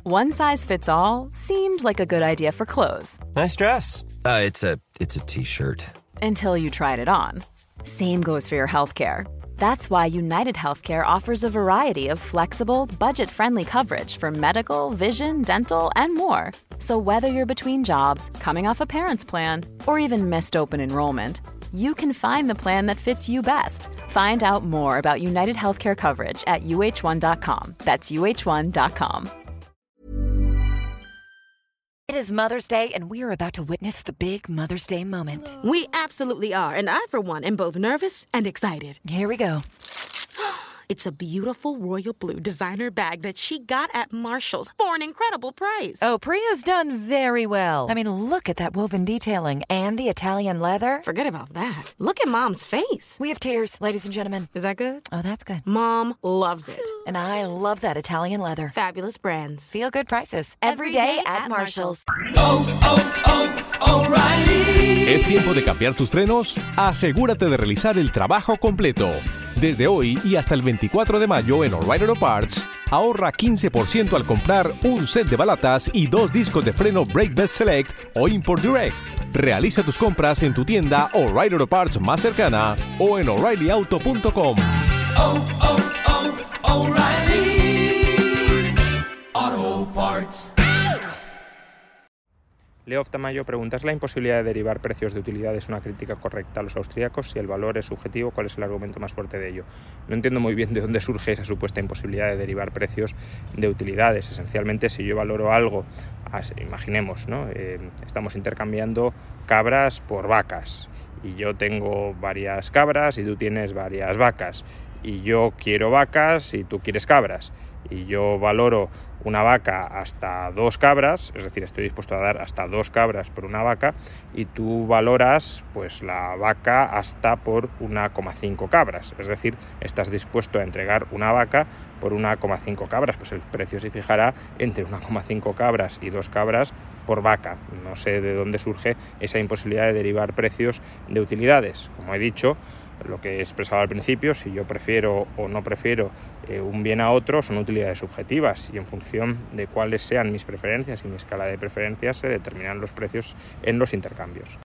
One size fits all seemed like a good idea for clothes. Nice dress. It's a t-shirt. Until you tried it on. Same goes for your healthcare. That's why United Healthcare offers a variety of flexible, budget-friendly coverage for medical, vision, dental, and more. So whether you're between jobs, coming off a parent's plan, or even missed open enrollment, you can find the plan that fits you best. Find out more about United Healthcare coverage at uh1.com. That's uh1.com. It is Mother's Day, and we are about to witness the big Mother's Day moment. We absolutely are, and I, for one, am both nervous and excited. Here we go. It's a beautiful royal blue designer bag that she got at Marshall's for an incredible price. Oh, Priya's done very well. I mean, look at that woven detailing and the Italian leather. Forget about that. Look at Mom's face. We have tears, ladies and gentlemen. Is that good? Oh, that's good. Mom loves it. And I love that Italian leather. Fabulous brands. Feel good prices. Every day at Marshall's. O'Reilly. ¿Es tiempo de cambiar tus frenos? Asegúrate de realizar el trabajo completo. Desde hoy y hasta el 24 de mayo en O'Reilly Auto Parts, ahorra 15% al comprar un set de balatas y 2 discos de freno Brake Best Select o Import Direct. Realiza tus compras en tu tienda O'Reilly Auto Parts más cercana o en O'ReillyAuto.com. O'Reilly Auto Parts. Leo Tamayo pregunta: ¿es la imposibilidad de derivar precios de utilidades una crítica correcta a los austríacos? Si el valor es subjetivo, ¿cuál es el argumento más fuerte de ello? No entiendo muy bien de dónde surge esa supuesta imposibilidad de derivar precios de utilidades. Esencialmente, si yo valoro algo, imaginemos, ¿no? Estamos intercambiando cabras por vacas y yo tengo varias cabras y tú tienes varias vacas y yo quiero vacas y tú quieres cabras y yo valoro una vaca hasta 2 cabras, es decir, estoy dispuesto a dar hasta 2 cabras por una vaca y tú valoras pues la vaca hasta por 1,5 cabras, es decir, estás dispuesto a entregar una vaca por 1,5 cabras, pues el precio se fijará entre 1,5 cabras y 2 cabras por vaca. No sé de dónde surge esa imposibilidad de derivar precios de utilidades. Como he dicho, lo que he expresado al principio, si yo prefiero o no prefiero un bien a otro, son utilidades subjetivas y en función de cuáles sean mis preferencias y mi escala de preferencias se determinan los precios en los intercambios.